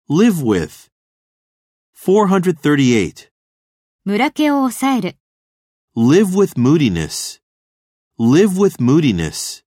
live with. 438. ムラ気を抑える。 Live with moodiness. Live with moodiness.